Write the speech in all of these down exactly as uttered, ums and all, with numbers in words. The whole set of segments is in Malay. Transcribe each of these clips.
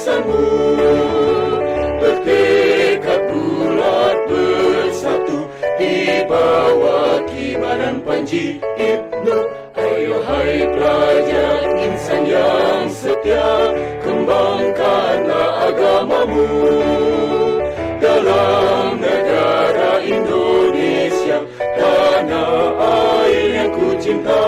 barisanmu, bertekad bulat bersatu di bawah kibaran Panji Ibnu. Ayo hai pelajar insan yang setia, kembangkanlah agamamu dalam negara Indonesia, tanah air yang ku cinta.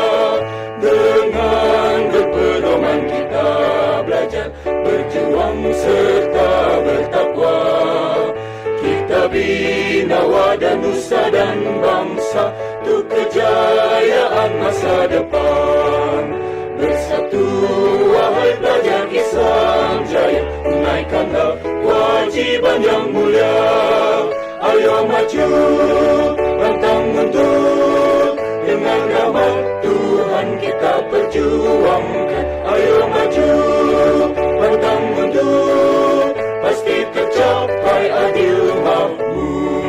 Dengan berpedoman kita belajar, berjuang serta bertakwa. Kita bina wadah nusa dan bangsa untuk kejayaan masa depan. Bersatu wahai pelajar Islam Jaya, tunaikanlah kewajiban yang mulia. Ayo maju, pantang mundur, dengan rahmat Tuhan kita perjuangkan. Ayo maju, pantang mundur, pasti tercapai adil makmur.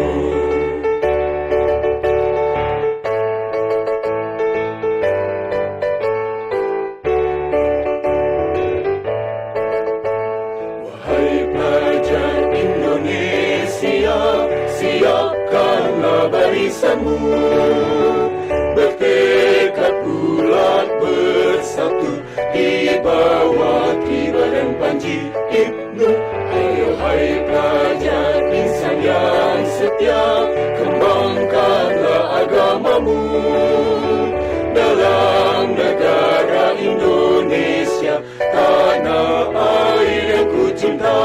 Wahai pelajar Indonesia, siapkanlah barisanmu, bertekad bulat bersatu di bawah kibaran Panji Ibnu. Ayo hai pelajar insan yang setia, kembangkanlah agamamu dalam negara Indonesia, tanah air yang ku cinta.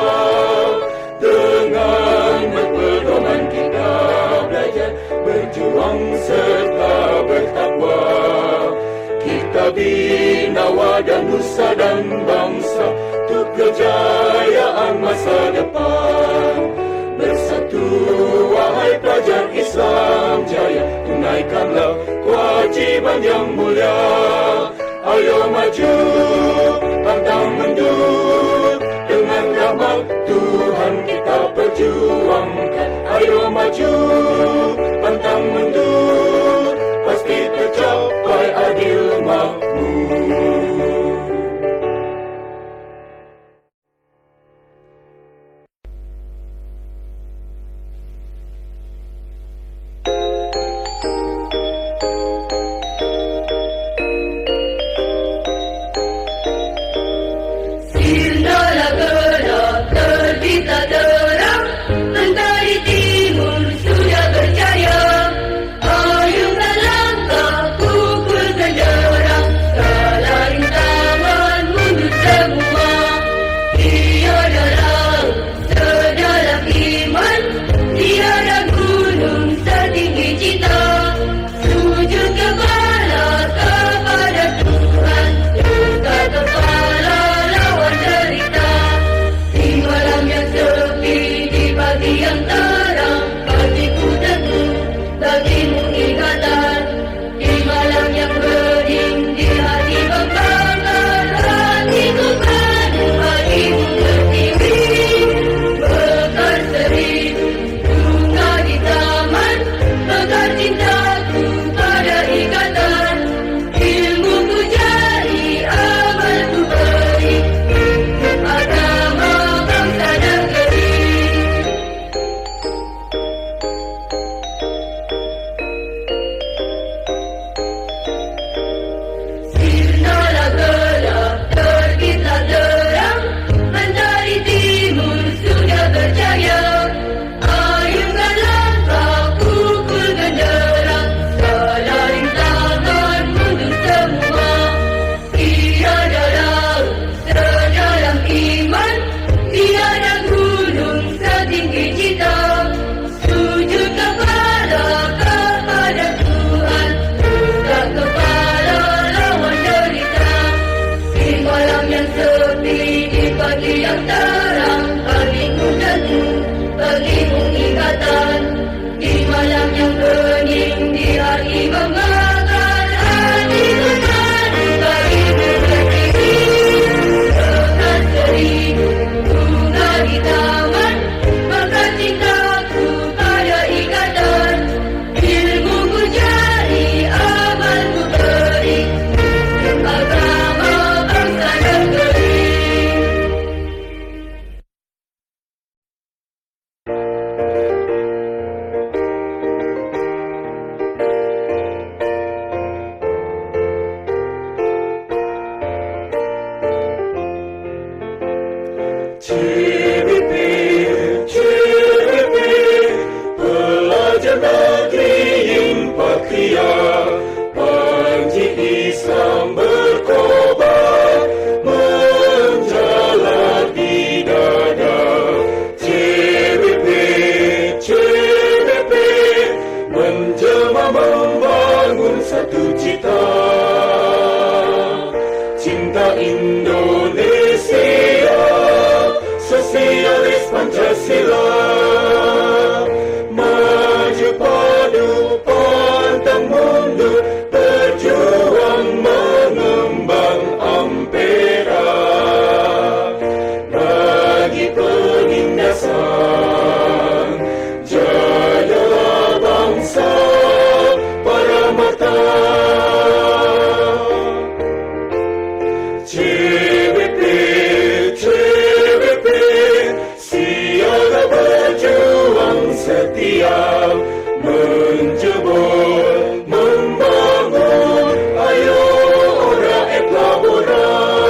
Dengan berpedoman kita belajar, berjuang serta bertakwa. Kita bina wadah nusa dan bangsa untuk kejayaan masa depan. Bersatu wahai pelajar Islam Jaya, tunaikanlah kewajiban yang mulia. Ayo maju, pantang mundur, dengan rahmat Tuhan kita perjuangkan. Ayo maju, pantang mundur, pasti tercapai adil makmur. Sepi C B P, C B P, pelajar negeri Impakria, Panji Islam berkobar, menjalar di dada. C B P, C B P, menjelma membangun satu cita, cinta Indonesia, sosialis Pancasila, maju padu pantang mundur, berjuang mengembang ampera, bagi penindasan jayalah bangsa para mata. C B P, C B P, siaga berjuang setia, menjebol, membangun, ayo ora et labora.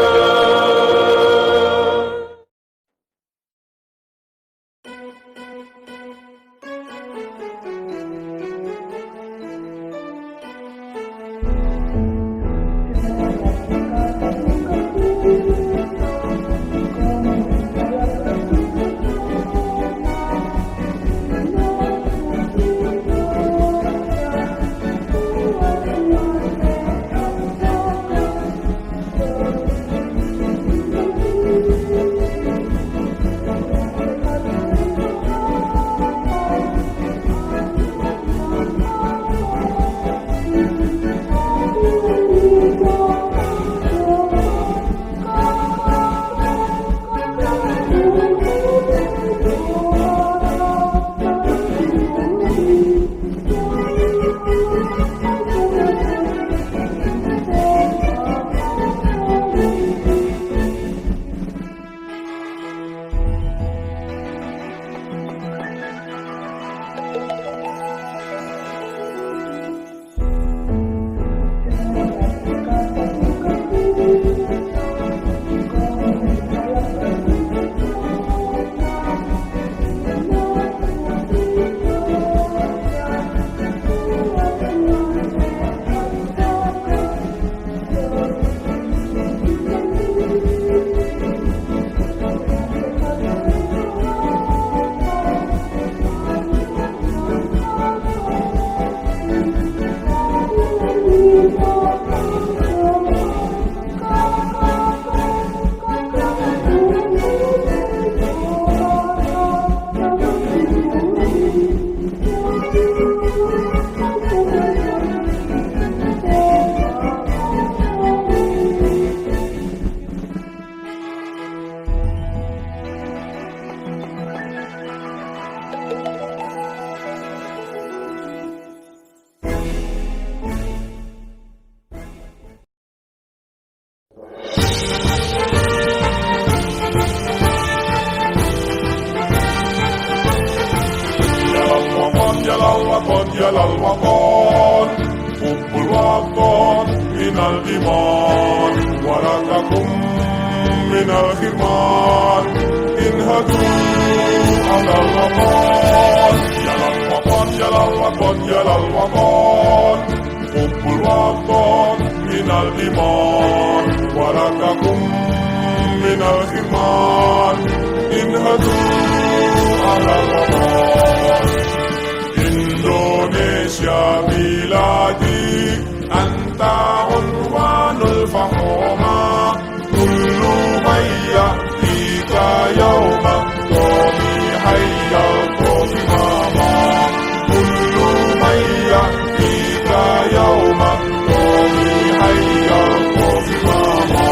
jalal waqon Hubbul waqon minal iman Warakakum minal khirman Inhadu alal waqon Jalal waqon, jalal waqon, jalal waqon Hubbul waqon minal iman Warakakum minal khirman Inhadu alal waqon Indonesia biladi anta unwanul fahoma kullu mayya tika yawma tomi hayya tomi mama kullu mayya tika yawma tomi hayya tomi mama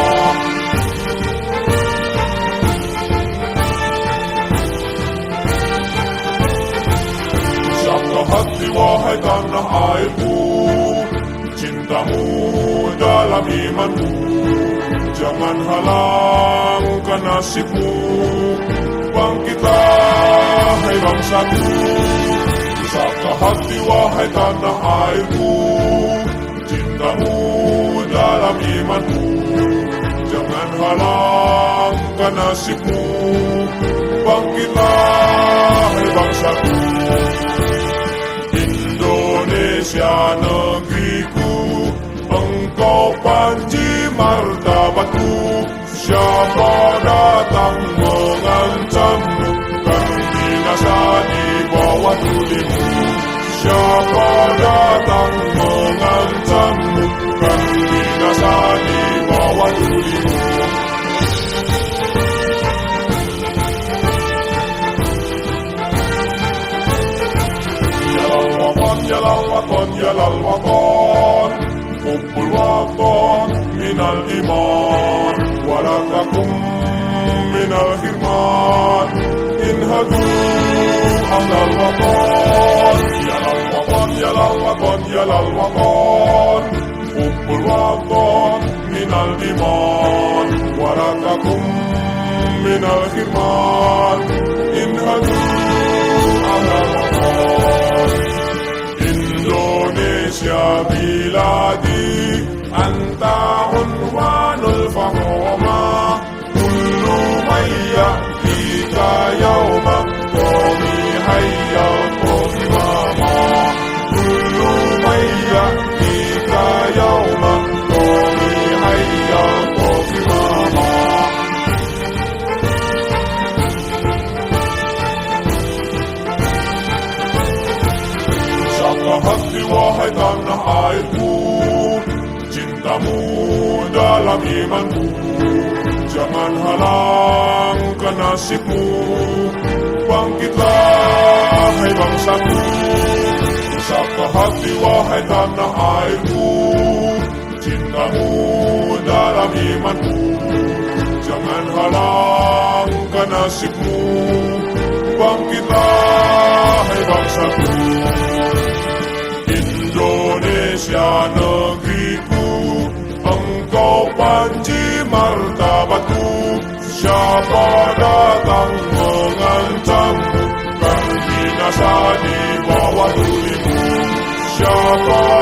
hati wahai tanah airku, cintamu dalam imanmu, jangan halangkan nasibmu, bangkitlah hai bangsaku, saka hati wahai tanah airku, cintamu dalam imanmu, jangan halangkan nasibmu. Bangkitlah hai bangsaku, Indonesia negeriku, engkau panji martabatku. Siapa datang mengancammu, kan binasa di bawah tulimu. Siapa datang mengancammu, kan binasa di bawah tulimu. Yalal waton, yalal waton, yalal waton, Hubbul waton minal iman, walatakum minal hirman. Inhadu ahlal waton, yalal waton, yalal waton, yalal waton, Hubbul waton minal iman, walatakum minal hirman. Inhadu ahlal waton. Indonesia biladi, anta unwanul fahoma, kullu mayya tika yawma, qawmi hayya qawmi mama. Kullu mayya tika yawma, qawmi hayya qawmi mama. Saka hati wahai tanah airku, cintamu dalam imanku. Jangan halangkan nasibmu, bangkitlah hai bangsaku. Saka hati wahai tanah airku, cintamu dalam imanku. Jangan halangkan nasibmu, bangkitlah hai bangsaku. Indonesia negeriku, engkau panji martabatku. Siapa datang mengancammu, kan binasa di bawah tulimu. Siapa